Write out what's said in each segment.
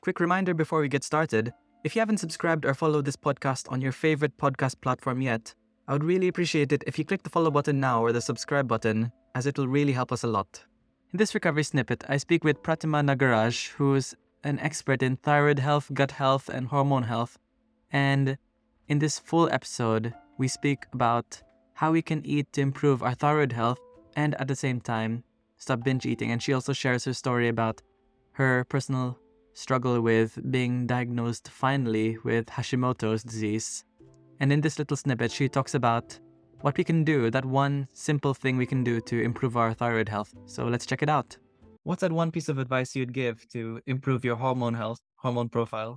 Quick reminder before we get started, if you haven't subscribed or followed this podcast on your favorite podcast platform yet, I would really appreciate it if you click the follow button now or the subscribe button, as it will really help us a lot. In this recovery snippet, I speak with Pratima Nagaraj, who's an expert in thyroid health, gut health, and hormone health. And in this full episode, we speak about how we can eat to improve our thyroid health and at the same time stop binge eating. And she also shares her story about her personal struggle with being diagnosed finally with Hashimoto's disease. And in this little snippet, she talks about what we can do, that one simple thing we can do to improve our thyroid health. So let's check it out. What's that one piece of advice you'd give to improve your hormone health, hormone profile?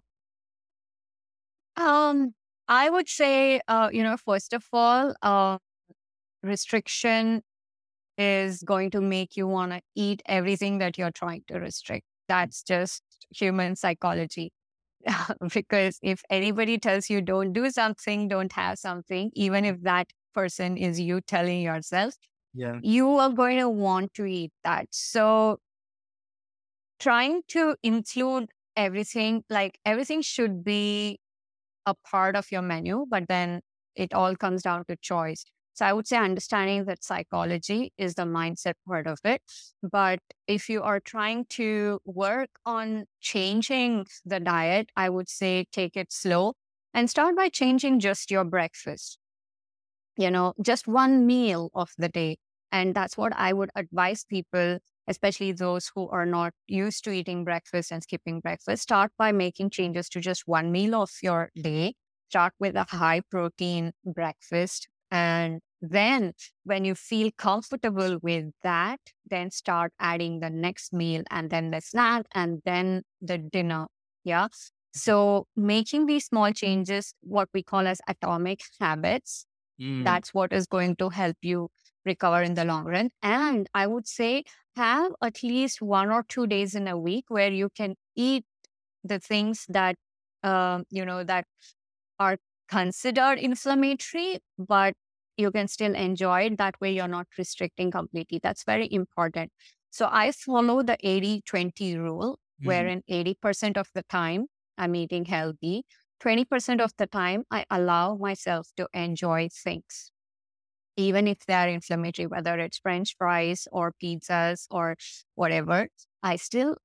I would say, first of all, restriction is going to make you want to eat everything that you're trying to restrict. That's just human psychology. Because if anybody tells you don't do something, don't have something, even if that person is you telling yourself, Yeah. you are going to want to eat that. So trying to include everything, like everything should be a part of your menu, but then it all comes down to choice. So I would say understanding that psychology is the mindset part of it. But if you are trying to work on changing the diet, I would say take it slow and start by changing just your breakfast, just one meal of the day. And that's what I would advise people, especially those who are not used to eating breakfast and skipping breakfast. Start by making changes to just one meal of your day. Start with a high protein breakfast. And then when you feel comfortable with that, then start adding the next meal and then the snack and then the dinner. Yeah. So making these small changes, what we call as atomic habits, that's what is going to help you recover in the long run. And I would say have at least 1 or 2 days in a week where you can eat the things that, that are considered inflammatory, but you can still enjoy it. That way you're not restricting completely. That's very important. So I follow the 80-20 rule, wherein 80% of the time I'm eating healthy. 20% of the time, I allow myself to enjoy things, even if they are inflammatory, whether it's French fries or pizzas or whatever. I still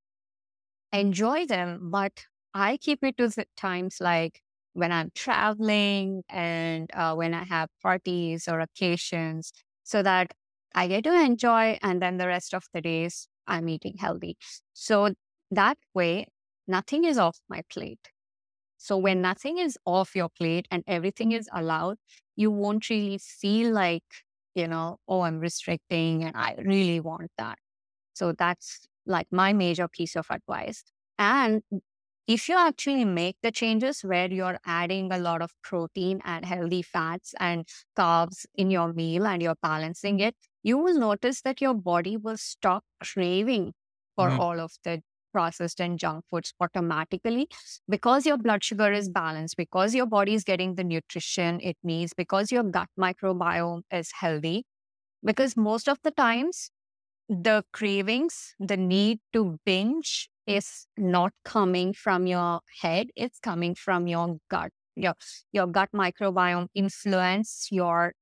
enjoy them, but I keep it to the times like when I'm traveling and when I have parties or occasions, so that I get to enjoy. And then the rest of the days, I'm eating healthy. So that way, nothing is off my plate. So when nothing is off your plate and everything is allowed, you won't really feel like, oh, I'm restricting and I really want that. So that's like my major piece of advice. And if you actually make the changes where you're adding a lot of protein and healthy fats and carbs in your meal and you're balancing it, you will notice that your body will stop craving for all of the processed and junk foods automatically, because your blood sugar is balanced, because your body is getting the nutrition it needs, because your gut microbiome is healthy. Because most of the times, the cravings, the need to binge is not coming from your head, it's coming from your gut. Your gut microbiome influence your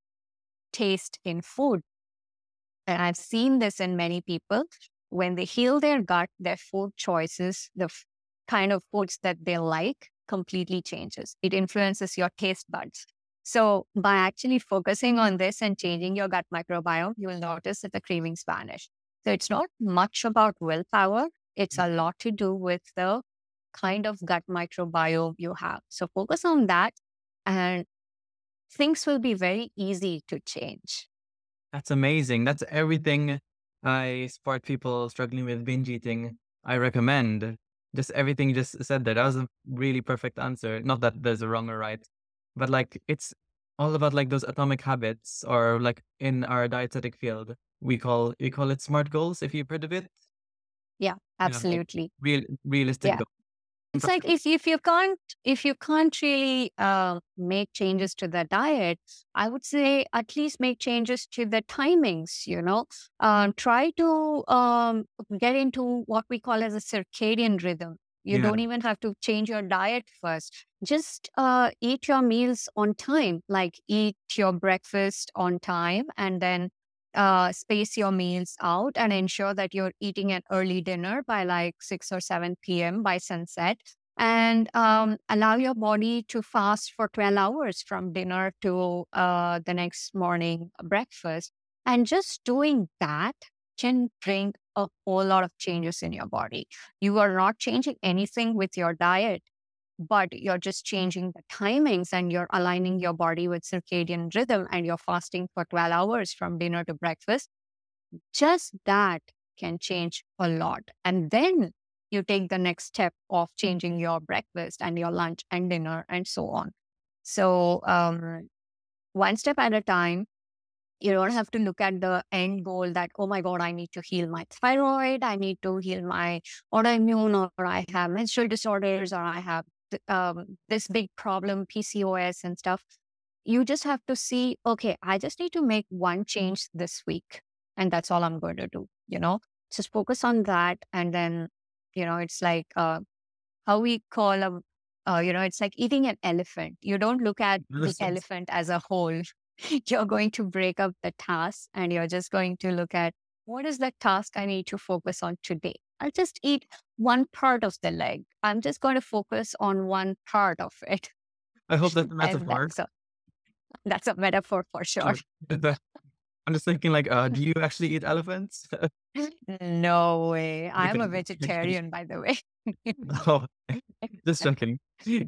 taste in food. And I've seen this in many people. When they heal their gut, their food choices, the kind of foods that they like completely changes. It influences your taste buds. So by actually focusing on this and changing your gut microbiome, you will notice that the cravings vanish. So it's not much about willpower. It's a lot to do with the kind of gut microbiome you have. So focus on that and things will be very easy to change. That's amazing. That's everything I support people struggling with binge eating. I recommend just everything you just said there. That was a really perfect answer. Not that there's a wrong or right, but like it's all about like those atomic habits, or like in our dietetic field, we call it SMART goals. If you've heard of it, Yeah, like absolutely. realistic Yeah. goals. It's like if you can't really make changes to the diet, I would say at least make changes to the timings. Try to get into what we call as a circadian rhythm. You don't even have to change your diet first. Just eat your meals on time, like eat your breakfast on time, and then space your meals out and ensure that you're eating an early dinner by like 6 or 7 p.m. by sunset. And allow your body to fast for 12 hours from dinner to the next morning breakfast. And just doing that can bring a whole lot of changes in your body. You are not changing anything with your diet, but you're just changing the timings and you're aligning your body with circadian rhythm and you're fasting for 12 hours from dinner to breakfast. Just that can change a lot. And then you take the next step of changing your breakfast and your lunch and dinner and so on. So, one step at a time. You don't have to look at the end goal that, oh my God, I need to heal my thyroid, I need to heal my autoimmune, or I have menstrual disorders, or I have this big problem, PCOS and stuff. You just have to see, okay, I just need to make one change this week. And that's all I'm going to do, just focus on that. And then, it's like how we call it's like eating an elephant. You don't look at the elephant as a whole. You're going to break up the task and you're just going to look at what is the task I need to focus on today. I'll just eat one part of the leg. I'm just going to focus on one part of it. I hope that's a And metaphor. that's a metaphor for sure. I'm just thinking, like, do you actually eat elephants? No way. I'm a Okay. vegetarian, by the way. Oh, just joking.